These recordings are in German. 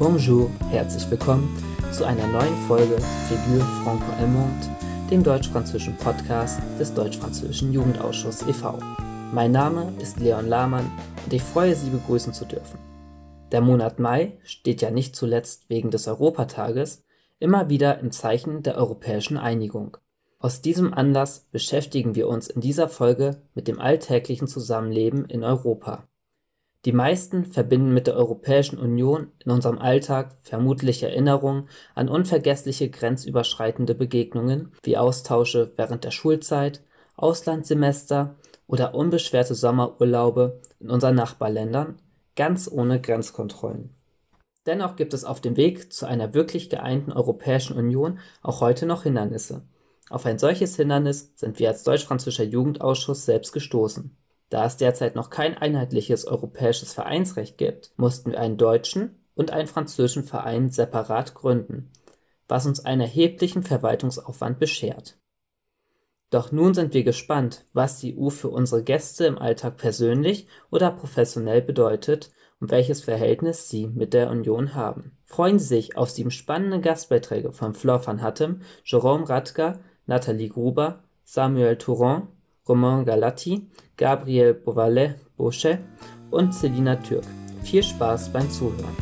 Bonjour, herzlich willkommen zu einer neuen Folge Figure Franco-Allemande, dem deutsch-französischen Podcast des Deutsch-Französischen Jugendausschuss e.V. Mein Name ist Leon Lahmann und ich freue Sie begrüßen zu dürfen. Der Monat Mai steht ja nicht zuletzt wegen des Europatages immer wieder im Zeichen der europäischen Einigung. Aus diesem Anlass beschäftigen wir uns in dieser Folge mit dem alltäglichen Zusammenleben in Europa. Die meisten verbinden mit der Europäischen Union in unserem Alltag vermutlich Erinnerungen an unvergessliche grenzüberschreitende Begegnungen wie Austausche während der Schulzeit, Auslandssemester oder unbeschwerte Sommerurlaube in unseren Nachbarländern, ganz ohne Grenzkontrollen. Dennoch gibt es auf dem Weg zu einer wirklich geeinten Europäischen Union auch heute noch Hindernisse. Auf ein solches Hindernis sind wir als Deutsch-Französischer Jugendausschuss selbst gestoßen. Da es derzeit noch kein einheitliches europäisches Vereinsrecht gibt, mussten wir einen deutschen und einen französischen Verein separat gründen, was uns einen erheblichen Verwaltungsaufwand beschert. Doch nun sind wir gespannt, was die EU für unsere Gäste im Alltag persönlich oder professionell bedeutet und welches Verhältnis sie mit der Union haben. Freuen Sie sich auf 7 spannende Gastbeiträge von Flor van Hattem, Jérôme Radka, Nathalie Gruber, Samuel Touron, Romain Galati, Gabriel Bovalet-Bochet und Selina Türk. Viel Spaß beim Zuhören.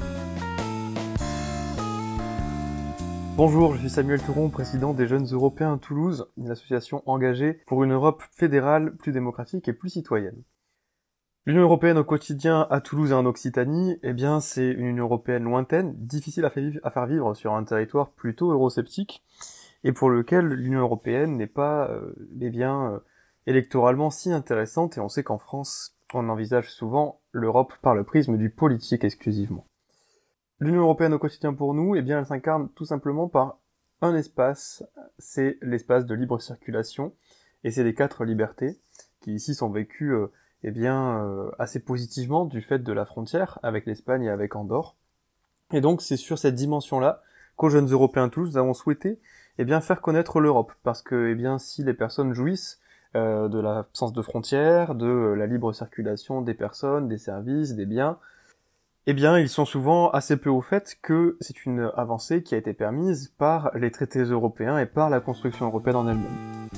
Bonjour, je suis Samuel Touron, président des Jeunes Européens à Toulouse, une association engagée pour une Europe fédérale, plus démocratique et plus citoyenne. L'Union européenne au quotidien à Toulouse et en Occitanie, eh bien, c'est une Union européenne lointaine, difficile à faire vivre sur un territoire plutôt eurosceptique, et pour lequel l'Union européenne n'est pas, électoralement si intéressante, et on sait qu'en France, on envisage souvent l'Europe par le prisme du politique exclusivement. L'Union européenne au quotidien pour nous, eh bien, elle s'incarne tout simplement par un espace, c'est l'espace de libre circulation, et c'est les 4 libertés, qui ici sont vécues, assez positivement du fait de la frontière avec l'Espagne et avec Andorre. Et donc, c'est sur cette dimension-là qu'aux Jeunes Européens tous, nous avons souhaité, faire connaître l'Europe, parce que, si les personnes jouissent de l'absence de frontières, de la libre circulation des personnes, des services, des biens, ils sont souvent assez peu au fait que c'est une avancée qui a été permise par les traités européens et par la construction européenne en elle-même.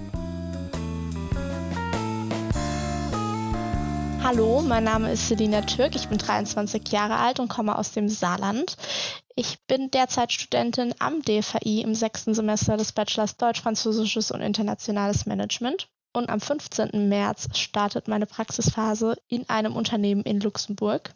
Hallo, mein Name ist Selina Türk, ich bin 23 Jahre alt und komme aus dem Saarland. Ich bin derzeit Studentin am DFAI im 6. Semester des Bachelors Deutsch, Französisches und Internationales Management. Und am 15. März startet meine Praxisphase in einem Unternehmen in Luxemburg.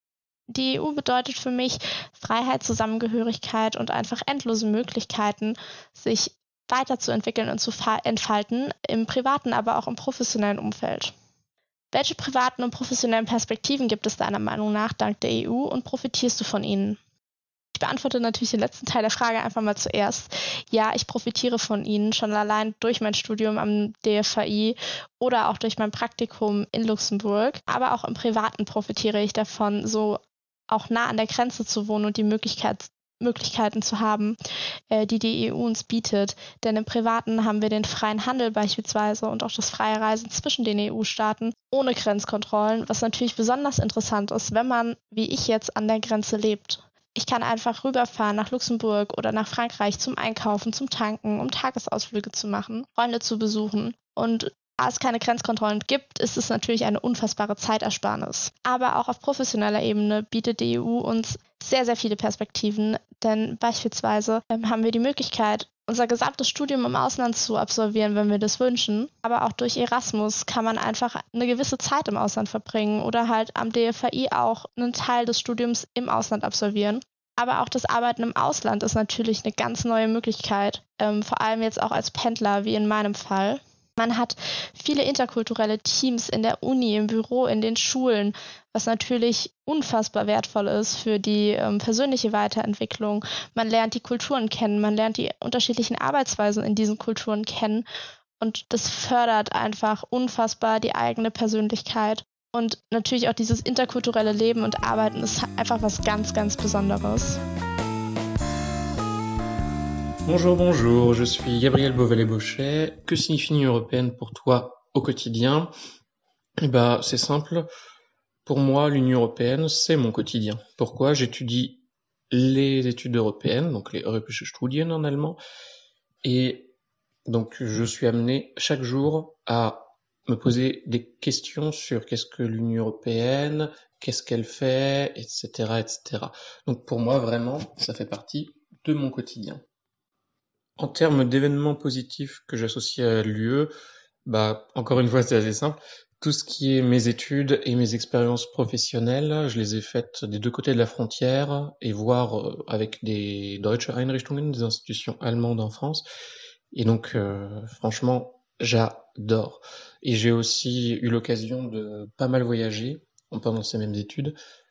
Die EU bedeutet für mich Freiheit, Zusammengehörigkeit und einfach endlose Möglichkeiten, sich weiterzuentwickeln und zu entfalten, im privaten, aber auch im professionellen Umfeld. Welche privaten und professionellen Perspektiven gibt es deiner Meinung nach dank der EU und profitierst du von ihnen? Ich beantworte natürlich den letzten Teil der Frage einfach mal zuerst. Ja, ich profitiere von ihnen schon allein durch mein Studium am DFAI oder auch durch mein Praktikum in Luxemburg. Aber auch im Privaten profitiere ich davon, so auch nah an der Grenze zu wohnen und die Möglichkeiten zu haben, die EU uns bietet. Denn im Privaten haben wir den freien Handel beispielsweise und auch das freie Reisen zwischen den EU-Staaten ohne Grenzkontrollen, was natürlich besonders interessant ist, wenn man, wie ich jetzt, an der Grenze lebt. Ich kann einfach rüberfahren nach Luxemburg oder nach Frankreich zum Einkaufen, zum Tanken, um Tagesausflüge zu machen, Freunde zu besuchen. Und da es keine Grenzkontrollen gibt, ist es natürlich eine unfassbare Zeitersparnis. Aber auch auf professioneller Ebene bietet die EU uns sehr, sehr viele Perspektiven, denn beispielsweise haben wir die Möglichkeit, unser gesamtes Studium im Ausland zu absolvieren, wenn wir das wünschen. Aber auch durch Erasmus kann man einfach eine gewisse Zeit im Ausland verbringen oder halt am DFAI auch einen Teil des Studiums im Ausland absolvieren. Aber auch das Arbeiten im Ausland ist natürlich eine ganz neue Möglichkeit, vor allem jetzt auch als Pendler, wie in meinem Fall. Man hat viele interkulturelle Teams in der Uni, im Büro, in den Schulen, was natürlich unfassbar wertvoll ist für die persönliche Weiterentwicklung. Man lernt die Kulturen kennen, man lernt die unterschiedlichen Arbeitsweisen in diesen Kulturen kennen und das fördert einfach unfassbar die eigene Persönlichkeit. Und natürlich auch dieses interkulturelle Leben und Arbeiten ist einfach was ganz, ganz Besonderes. Bonjour, je suis Gabriel Bovalet-Bochet. Que signifie l'Union européenne pour toi au quotidien? C'est simple. Pour moi, l'Union européenne, c'est mon quotidien. Pourquoi? J'étudie les études européennes, donc les europäische Studien en allemand. Et donc, je suis amené chaque jour à me poser des questions sur qu'est-ce que l'Union européenne, qu'est-ce qu'elle fait, etc., etc. Donc, pour moi, vraiment, ça fait partie de mon quotidien. En termes d'événements positifs que j'associe à l'UE, encore une fois, c'est assez simple. Tout ce qui est mes études et mes expériences professionnelles, je les ai faites des deux côtés de la frontière et voire avec des Deutsche Einrichtungen, des institutions allemandes en France. Et donc, franchement, j'adore. Et j'ai aussi eu l'occasion de pas mal voyager pendant ces mêmes études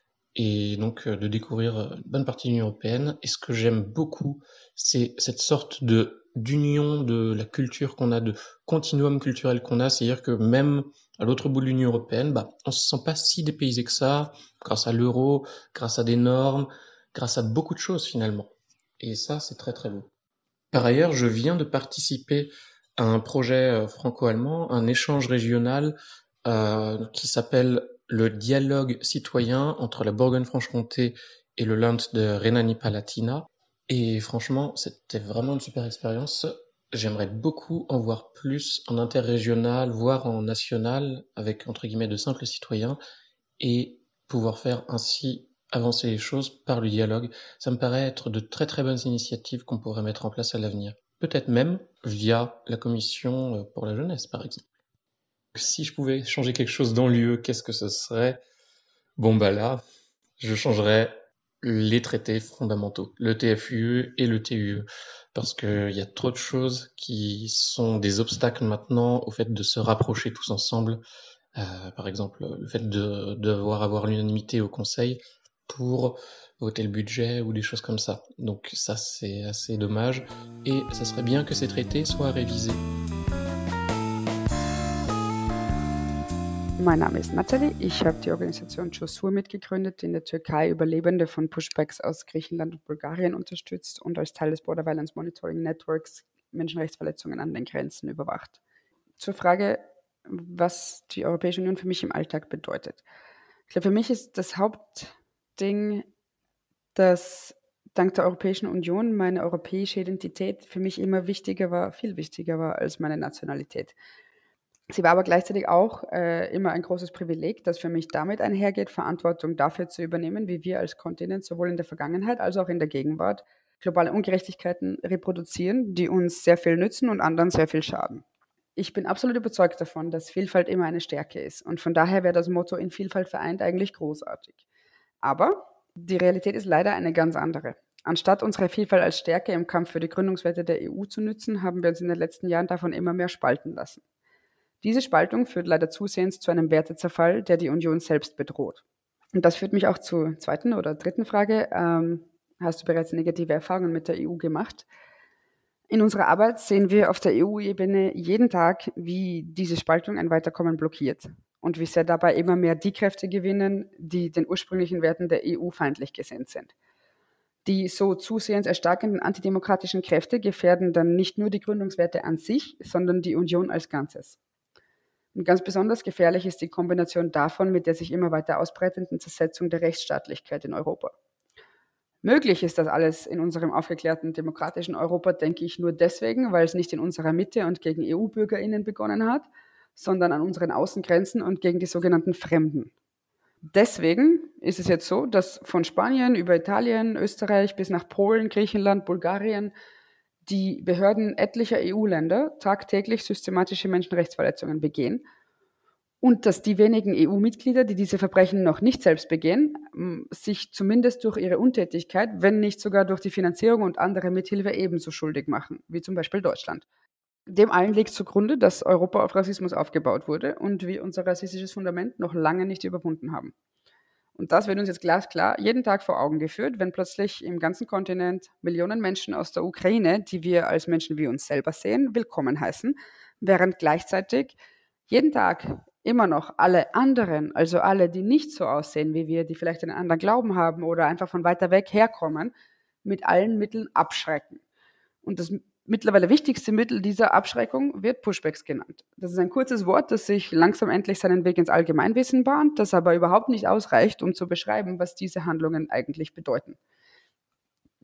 et donc de découvrir une bonne partie de l'Union européenne. Et ce que j'aime beaucoup, c'est cette sorte d'union de la culture qu'on a, de continuum culturel qu'on a, c'est-à-dire que même à l'autre bout de l'Union européenne, on se sent pas si dépaysé que ça, grâce à l'euro, grâce à des normes, grâce à beaucoup de choses finalement. Et ça, c'est très très beau. Par ailleurs, je viens de participer à un projet franco-allemand, un échange régional qui s'appelle le dialogue citoyen entre la Bourgogne-Franche-Comté et le Land de Rhénanie-Palatinat. Et franchement, c'était vraiment une super expérience. J'aimerais beaucoup en voir plus en interrégional, voire en national, avec entre guillemets de simples citoyens, et pouvoir faire ainsi avancer les choses par le dialogue. Ça me paraît être de très très bonnes initiatives qu'on pourrait mettre en place à l'avenir. Peut-être même via la commission pour la jeunesse, par exemple. Si je pouvais changer quelque chose dans l'UE, qu'est-ce que ce serait? Là, je changerais les traités fondamentaux, le TFUE et le TUE, parce qu'il y a trop de choses qui sont des obstacles maintenant au fait de se rapprocher tous ensemble. Par exemple, le fait de devoir avoir l'unanimité au Conseil pour voter le budget ou des choses comme ça. Donc ça, c'est assez dommage. Et ça serait bien que ces traités soient révisés. Mein Name ist Nathalie. Ich habe die Organisation Chosur mitgegründet, die in der Türkei Überlebende von Pushbacks aus Griechenland und Bulgarien unterstützt und als Teil des Border Violence Monitoring Networks Menschenrechtsverletzungen an den Grenzen überwacht. Zur Frage, was die Europäische Union für mich im Alltag bedeutet. Ich glaube, für mich ist das Hauptding, dass dank der Europäischen Union meine europäische Identität für mich immer viel wichtiger war als meine Nationalität. Sie war aber gleichzeitig auch immer ein großes Privileg, das für mich damit einhergeht, Verantwortung dafür zu übernehmen, wie wir als Kontinent sowohl in der Vergangenheit als auch in der Gegenwart globale Ungerechtigkeiten reproduzieren, die uns sehr viel nützen und anderen sehr viel schaden. Ich bin absolut überzeugt davon, dass Vielfalt immer eine Stärke ist und von daher wäre das Motto "In Vielfalt vereint" eigentlich großartig. Aber die Realität ist leider eine ganz andere. Anstatt unsere Vielfalt als Stärke im Kampf für die Gründungswerte der EU zu nützen, haben wir uns in den letzten Jahren davon immer mehr spalten lassen. Diese Spaltung führt leider zusehends zu einem Wertezerfall, der die Union selbst bedroht. Und das führt mich auch zur zweiten oder dritten Frage. Hast du bereits negative Erfahrungen mit der EU gemacht? In unserer Arbeit sehen wir auf der EU-Ebene jeden Tag, wie diese Spaltung ein Weiterkommen blockiert und wie sehr dabei immer mehr die Kräfte gewinnen, die den ursprünglichen Werten der EU feindlich gesinnt sind. Die so zusehends erstarkenden antidemokratischen Kräfte gefährden dann nicht nur die Gründungswerte an sich, sondern die Union als Ganzes. Und ganz besonders gefährlich ist die Kombination davon mit der sich immer weiter ausbreitenden Zersetzung der Rechtsstaatlichkeit in Europa. Möglich ist das alles in unserem aufgeklärten demokratischen Europa, denke ich, nur deswegen, weil es nicht in unserer Mitte und gegen EU-BürgerInnen begonnen hat, sondern an unseren Außengrenzen und gegen die sogenannten Fremden. Deswegen ist es jetzt so, dass von Spanien über Italien, Österreich bis nach Polen, Griechenland, Bulgarien die Behörden etlicher EU-Länder tagtäglich systematische Menschenrechtsverletzungen begehen und dass die wenigen EU-Mitglieder, die diese Verbrechen noch nicht selbst begehen, sich zumindest durch ihre Untätigkeit, wenn nicht sogar durch die Finanzierung und andere Mithilfe ebenso schuldig machen, wie zum Beispiel Deutschland. Dem allen liegt zugrunde, dass Europa auf Rassismus aufgebaut wurde und wir unser rassistisches Fundament noch lange nicht überwunden haben. Und das wird uns jetzt glasklar jeden Tag vor Augen geführt, wenn plötzlich im ganzen Kontinent Millionen Menschen aus der Ukraine, die wir als Menschen wie uns selber sehen, willkommen heißen, während gleichzeitig jeden Tag immer noch alle anderen, also alle, die nicht so aussehen wie wir, die vielleicht einen anderen Glauben haben oder einfach von weiter weg herkommen, mit allen Mitteln abschrecken. Und das mittlerweile wichtigste Mittel dieser Abschreckung wird Pushbacks genannt. Das ist ein kurzes Wort, das sich langsam endlich seinen Weg ins Allgemeinwissen bahnt, das aber überhaupt nicht ausreicht, um zu beschreiben, was diese Handlungen eigentlich bedeuten.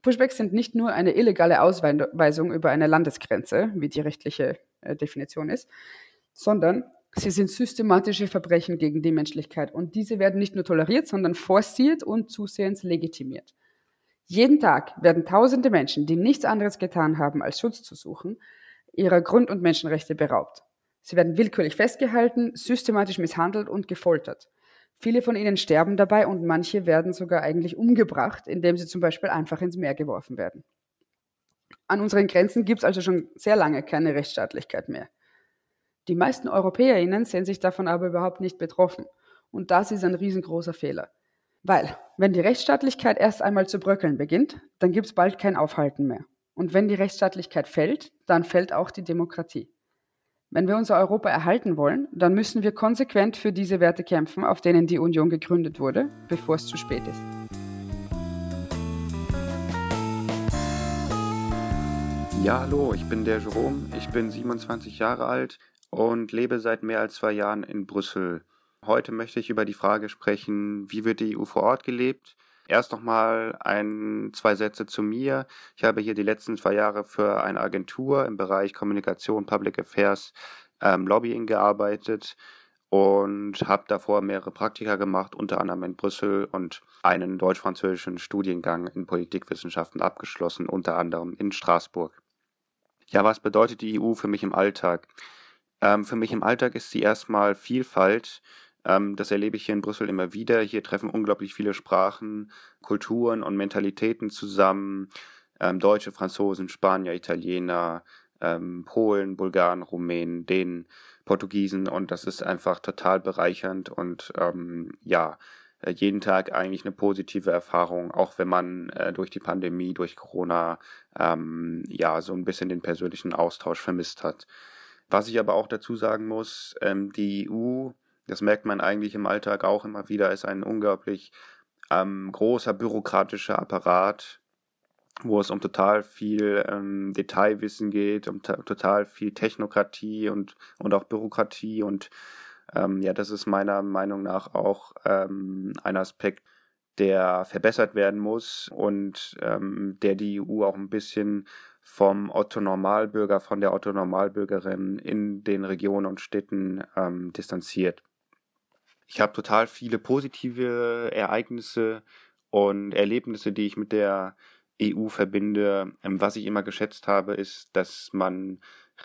Pushbacks sind nicht nur eine illegale Ausweisung über eine Landesgrenze, wie die rechtliche Definition ist, sondern sie sind systematische Verbrechen gegen die Menschlichkeit. Und diese werden nicht nur toleriert, sondern forciert und zusehends legitimiert. Jeden Tag werden tausende Menschen, die nichts anderes getan haben, als Schutz zu suchen, ihrer Grund- und Menschenrechte beraubt. Sie werden willkürlich festgehalten, systematisch misshandelt und gefoltert. Viele von ihnen sterben dabei und manche werden sogar eigentlich umgebracht, indem sie zum Beispiel einfach ins Meer geworfen werden. An unseren Grenzen gibt es also schon sehr lange keine Rechtsstaatlichkeit mehr. Die meisten EuropäerInnen sehen sich davon aber überhaupt nicht betroffen. Und das ist ein riesengroßer Fehler. Weil, wenn die Rechtsstaatlichkeit erst einmal zu bröckeln beginnt, dann gibt es bald kein Aufhalten mehr. Und wenn die Rechtsstaatlichkeit fällt, dann fällt auch die Demokratie. Wenn wir unser Europa erhalten wollen, dann müssen wir konsequent für diese Werte kämpfen, auf denen die Union gegründet wurde, bevor es zu spät ist. Ja, hallo, ich bin der Jerome, ich bin 27 Jahre alt und lebe seit mehr als 2 Jahren in Brüssel. Heute möchte ich über die Frage sprechen, wie wird die EU vor Ort gelebt? Erst nochmal 2 Sätze zu mir. Ich habe hier die letzten 2 Jahre für eine Agentur im Bereich Kommunikation, Public Affairs, Lobbying gearbeitet und habe davor mehrere Praktika gemacht, unter anderem in Brüssel und einen deutsch-französischen Studiengang in Politikwissenschaften abgeschlossen, unter anderem in Straßburg. Ja, was bedeutet die EU für mich im Alltag? Für mich im Alltag ist sie erstmal Vielfalt. Das erlebe ich hier in Brüssel immer wieder. Hier treffen unglaublich viele Sprachen, Kulturen und Mentalitäten zusammen. Deutsche, Franzosen, Spanier, Italiener, Polen, Bulgaren, Rumänen, Dänen, Portugiesen. Und das ist einfach total bereichernd und jeden Tag eigentlich eine positive Erfahrung, auch wenn man durch die Pandemie, durch Corona so ein bisschen den persönlichen Austausch vermisst hat. Was ich aber auch dazu sagen muss, die EU, das merkt man eigentlich im Alltag auch immer wieder, ist ein unglaublich großer bürokratischer Apparat, wo es um total viel Detailwissen geht, um total viel Technokratie und auch Bürokratie und das ist meiner Meinung nach auch ein Aspekt, der verbessert werden muss und der die EU auch ein bisschen vom Otto-Normalbürger, von der Otto-Normalbürgerin in den Regionen und Städten distanziert. Ich habe total viele positive Ereignisse und Erlebnisse, die ich mit der EU verbinde. Was ich immer geschätzt habe, ist, dass man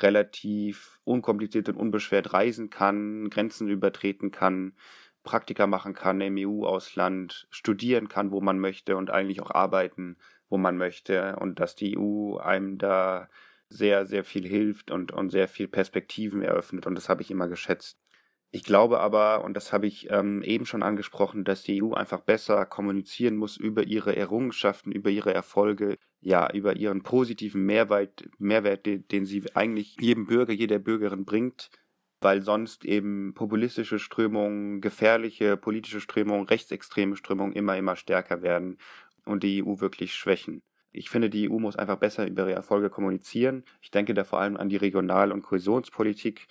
relativ unkompliziert und unbeschwert reisen kann, Grenzen übertreten kann, Praktika machen kann im EU-Ausland, studieren kann, wo man möchte und eigentlich auch arbeiten, wo man möchte und dass die EU einem da sehr, sehr viel hilft und sehr viel Perspektiven eröffnet und das habe ich immer geschätzt. Ich glaube aber, und das habe ich eben schon angesprochen, dass die EU einfach besser kommunizieren muss über ihre Errungenschaften, über ihre Erfolge, ja, über ihren positiven Mehrwert, den sie eigentlich jedem Bürger, jeder Bürgerin bringt, weil sonst eben populistische Strömungen, gefährliche politische Strömungen, rechtsextreme Strömungen immer stärker werden und die EU wirklich schwächen. Ich finde, die EU muss einfach besser über ihre Erfolge kommunizieren. Ich denke da vor allem an die Regional- und Kohäsionspolitik,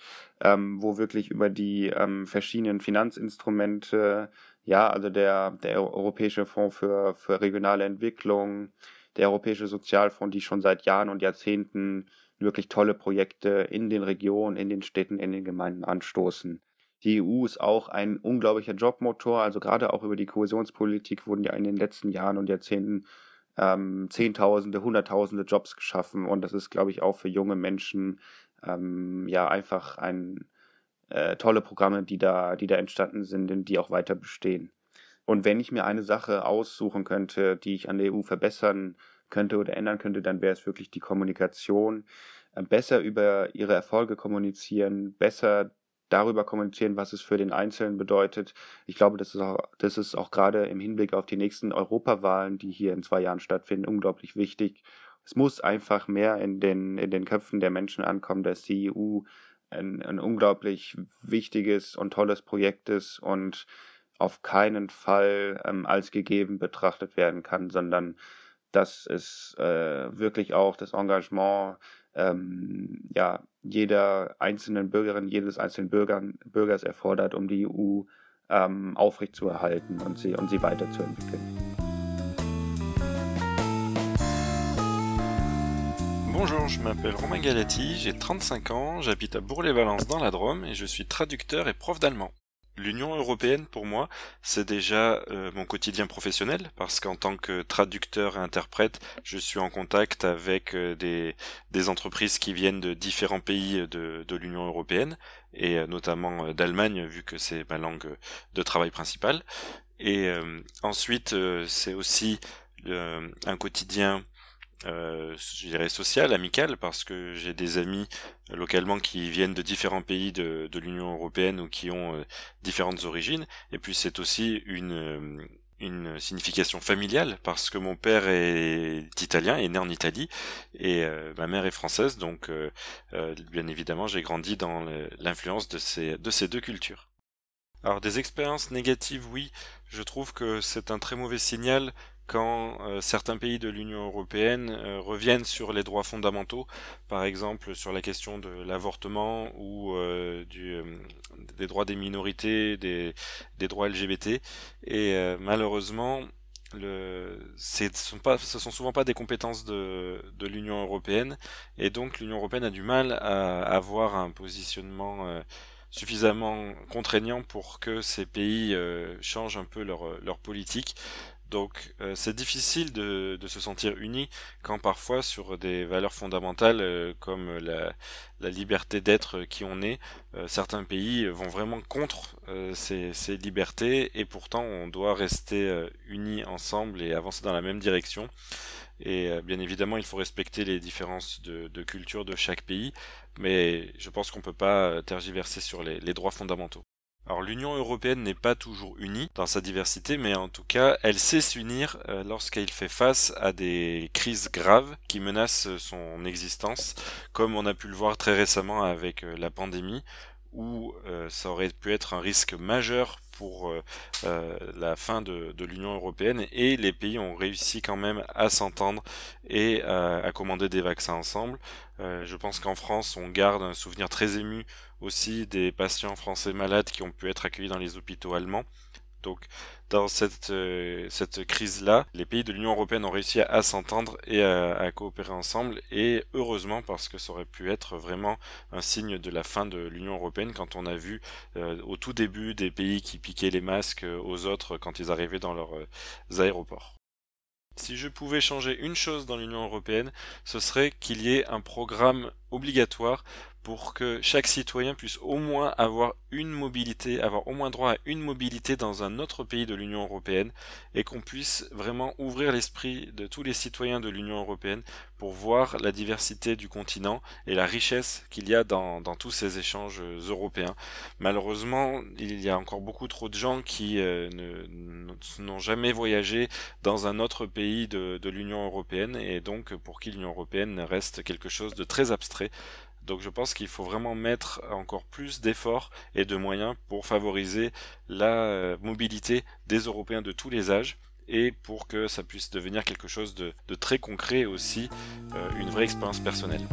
wo wirklich über die verschiedenen Finanzinstrumente, also der Europäische Fonds für regionale Entwicklung, der Europäische Sozialfonds, die schon seit Jahren und Jahrzehnten wirklich tolle Projekte in den Regionen, in den Städten, in den Gemeinden anstoßen. Die EU ist auch ein unglaublicher Jobmotor, also gerade auch über die Kohäsionspolitik wurden ja in den letzten Jahren und Jahrzehnten Zehntausende, Hunderttausende Jobs geschaffen und das ist, glaube ich, auch für junge Menschen einfach tolle Programme, die da entstanden sind und die auch weiter bestehen. Und wenn ich mir eine Sache aussuchen könnte, die ich an der EU verbessern könnte oder ändern könnte, dann wäre es wirklich die Kommunikation. Besser über ihre Erfolge kommunizieren, besser darüber kommunizieren, was es für den Einzelnen bedeutet. Ich glaube, das ist auch gerade im Hinblick auf die nächsten Europawahlen, die hier in 2 Jahren stattfinden, unglaublich wichtig. Es muss einfach mehr in den Köpfen der Menschen ankommen, dass die EU ein unglaublich wichtiges und tolles Projekt ist und auf keinen Fall als gegeben betrachtet werden kann, sondern dass es wirklich auch das Engagement jeder einzelnen Bürgerin, jedes einzelnen Bürgers erfordert, um die EU aufrechtzuerhalten und sie weiterzuentwickeln. Bonjour, je m'appelle Romain Galati, j'ai 35 ans, j'habite à Bourg-les-Valences dans la Drôme et je suis traducteur et prof d'allemand. L'Union européenne, pour moi, c'est déjà mon quotidien professionnel, parce qu'en tant que traducteur et interprète, je suis en contact avec des entreprises qui viennent de différents pays de l'Union européenne, et notamment d'Allemagne, vu que c'est ma langue de travail principale. Et ensuite, c'est aussi un quotidien je dirais social, amical, parce que j'ai des amis localement qui viennent de différents pays de l'Union européenne ou qui ont différentes origines. Et puis c'est aussi une signification familiale, parce que mon père est italien, est né en Italie, et ma mère est française, donc bien évidemment j'ai grandi dans l'influence de ces deux cultures. Alors des expériences négatives, oui, je trouve que c'est un très mauvais signal quand certains pays de l'Union européenne reviennent sur les droits fondamentaux, par exemple sur la question de l'avortement ou des droits des minorités, des droits LGBT, et malheureusement ce sont souvent pas des compétences de l'Union européenne, et donc l'Union européenne a du mal à avoir un positionnement suffisamment contraignant pour que ces pays changent un peu leur politique. Donc c'est difficile de se sentir uni quand parfois sur des valeurs fondamentales comme la liberté d'être qui on est, certains pays vont vraiment contre ces libertés, et pourtant on doit rester unis ensemble et avancer dans la même direction. Et bien évidemment il faut respecter les différences de culture de chaque pays, mais je pense qu'on peut pas tergiverser sur les droits fondamentaux. Alors l'Union européenne n'est pas toujours unie dans sa diversité, mais en tout cas, elle sait s'unir lorsqu'elle fait face à des crises graves qui menacent son existence, comme on a pu le voir très récemment avec la pandémie, où ça aurait pu être un risque majeur pour la fin de l'Union européenne, et les pays ont réussi quand même à s'entendre et à commander des vaccins ensemble. Je pense qu'en France, on garde un souvenir très ému aussi des patients français malades qui ont pu être accueillis dans les hôpitaux allemands. Donc dans cette crise-là, les pays de l'Union européenne ont réussi à s'entendre et à coopérer ensemble, et heureusement, parce que ça aurait pu être vraiment un signe de la fin de l'Union européenne quand on a vu au tout début des pays qui piquaient les masques aux autres quand ils arrivaient dans leurs aéroports. Si je pouvais changer une chose dans l'Union européenne, ce serait qu'il y ait un programme obligatoire pour que chaque citoyen puisse au moins avoir une mobilité, avoir au moins droit à une mobilité dans un autre pays de l'Union européenne, et qu'on puisse vraiment ouvrir l'esprit de tous les citoyens de l'Union européenne pour voir la diversité du continent et la richesse qu'il y a dans tous ces échanges européens. Malheureusement, il y a encore beaucoup trop de gens qui n'ont jamais voyagé dans un autre pays de l'Union européenne, et donc pour qui l'Union européenne reste quelque chose de très abstrait. Donc je pense qu'il faut vraiment mettre encore plus d'efforts et de moyens pour favoriser la mobilité des Européens de tous les âges, et pour que ça puisse devenir quelque chose de très concret, aussi une vraie expérience personnelle.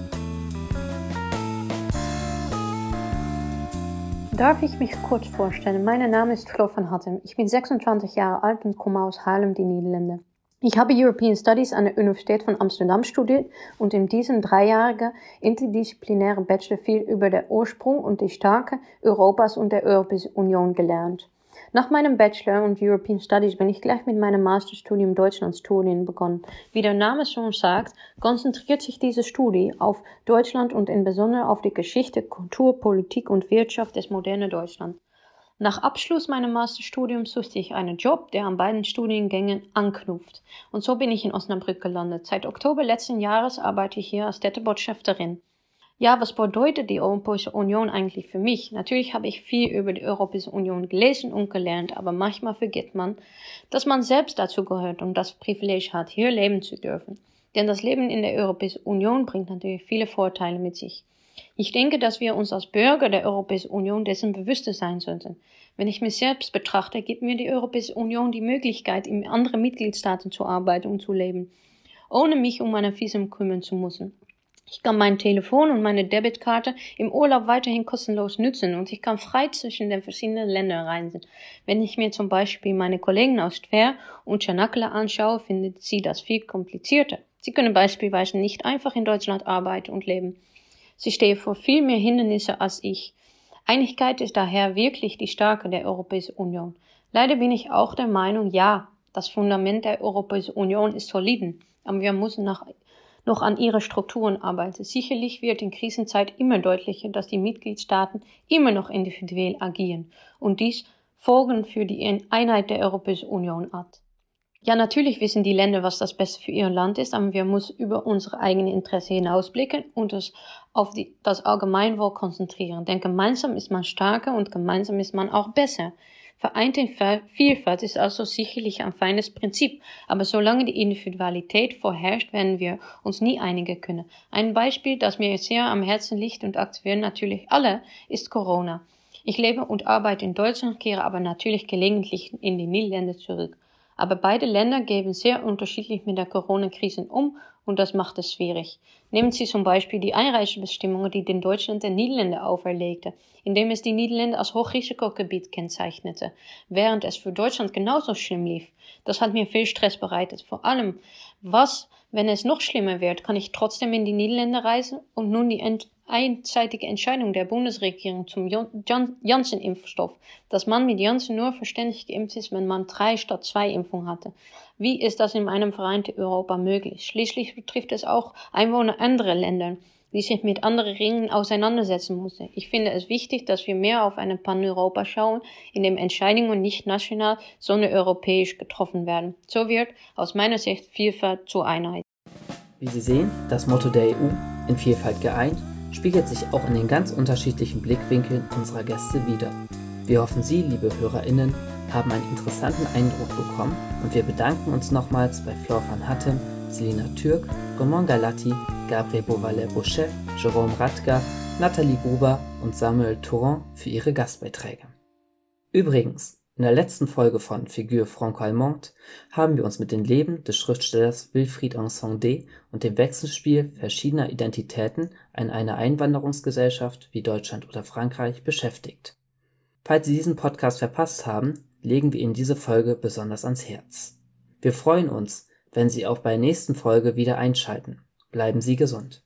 Darf ich mich kurz vorstellen? Mein Name ist Flo van Hattem. Ich bin 26 Jahre alt und komme aus Haarlem, die Niederlande. Ich habe European Studies an der Universität von Amsterdam studiert und in diesem dreijährigen interdisziplinären Bachelor viel über den Ursprung und die Stärke Europas und der Europäischen Union gelernt. Nach meinem Bachelor und European Studies bin ich gleich mit meinem Masterstudium Deutschlandstudien begonnen. Wie der Name schon sagt, konzentriert sich diese Studie auf Deutschland und insbesondere auf die Geschichte, Kultur, Politik und Wirtschaft des modernen Deutschland. Nach Abschluss meines Masterstudiums suchte ich einen Job, der an beiden Studiengängen anknüpft. Und so bin ich in Osnabrück gelandet. Seit Oktober letzten Jahres arbeite ich hier als Städtebotschafterin. Ja, was bedeutet die Europäische Union eigentlich für mich? Natürlich habe ich viel über die Europäische Union gelesen und gelernt, aber manchmal vergisst man, dass man selbst dazu gehört und das Privileg hat, hier leben zu dürfen. Denn das Leben in der Europäischen Union bringt natürlich viele Vorteile mit sich. Ich denke, dass wir uns als Bürger der Europäischen Union dessen bewusster sein sollten. Wenn ich mich selbst betrachte, gibt mir die Europäische Union die Möglichkeit, in anderen Mitgliedstaaten zu arbeiten und zu leben, ohne mich um mein Visum kümmern zu müssen. Ich kann mein Telefon und meine Debitkarte im Urlaub weiterhin kostenlos nutzen und ich kann frei zwischen den verschiedenen Ländern reisen. Wenn ich mir zum Beispiel meine Kollegen aus Tver und Çanakkale anschaue, findet sie das viel komplizierter. Sie können beispielsweise nicht einfach in Deutschland arbeiten und leben. Sie stehen vor viel mehr Hindernissen als ich. Einigkeit ist daher wirklich die Stärke der Europäischen Union. Leider bin ich auch der Meinung, ja, das Fundament der Europäischen Union ist solide, aber wir müssen noch an ihre Strukturen arbeiten. Sicherlich wird in Krisenzeit immer deutlicher, dass die Mitgliedstaaten immer noch individuell agieren und dies Folgen für die Einheit der Europäischen Union hat. Ja, natürlich wissen die Länder, was das Beste für ihr Land ist, aber wir müssen über unsere eigenen Interessen hinausblicken und uns auf das Allgemeinwohl konzentrieren. Denn gemeinsam ist man stärker und gemeinsam ist man auch besser. Vereint in Vielfalt ist also sicherlich ein feines Prinzip, aber solange die Individualität vorherrscht, werden wir uns nie einigen können. Ein Beispiel, das mir sehr am Herzen liegt und aktuell natürlich alle, ist Corona. Ich lebe und arbeite in Deutschland, kehre aber natürlich gelegentlich in die Niederlande zurück. Aber beide Länder gehen sehr unterschiedlich mit der Corona-Krise um und das macht es schwierig. Nehmen Sie zum Beispiel die Einreisebestimmungen, die den Deutschland den Niederlande auferlegte, indem es die Niederlande als Hochrisikogebiet kennzeichnete, während es für Deutschland genauso schlimm lief. Das hat mir viel Stress bereitet. Vor allem, wenn es noch schlimmer wird, kann ich trotzdem in die Niederlande reisen und nun die einseitige Entscheidung der Bundesregierung zum Janssen-Impfstoff, dass man mit Janssen nur verständlich geimpft ist, wenn man 3 statt 2 Impfungen hatte. Wie ist das in einem vereinten Europa möglich? Schließlich betrifft es auch Einwohner anderer Länder, die sich mit anderen Ringen auseinandersetzen müssen. Ich finde es wichtig, dass wir mehr auf eine Pan-Europa schauen, in dem Entscheidungen nicht national, sondern europäisch getroffen werden. So wird aus meiner Sicht Vielfalt zur Einheit. Wie Sie sehen, das Motto der EU, in Vielfalt geeint, spiegelt sich auch in den ganz unterschiedlichen Blickwinkeln unserer Gäste wider. Wir hoffen, Sie, liebe HörerInnen, haben einen interessanten Eindruck bekommen und wir bedanken uns nochmals bei Flor van Hattem, Selina Türk, Romain Galati, Gabriel Beauvalet-Bouchet, Jerome Radka, Nathalie Gruber und Samuel Touran für ihre Gastbeiträge. Übrigens, in der letzten Folge von Figure franco-allemande haben wir uns mit dem Leben des Schriftstellers Wilfried Ansandé und dem Wechselspiel verschiedener Identitäten in einer Einwanderungsgesellschaft wie Deutschland oder Frankreich beschäftigt. Falls Sie diesen Podcast verpasst haben, legen wir Ihnen diese Folge besonders ans Herz. Wir freuen uns, wenn Sie auch bei der nächsten Folge wieder einschalten. Bleiben Sie gesund.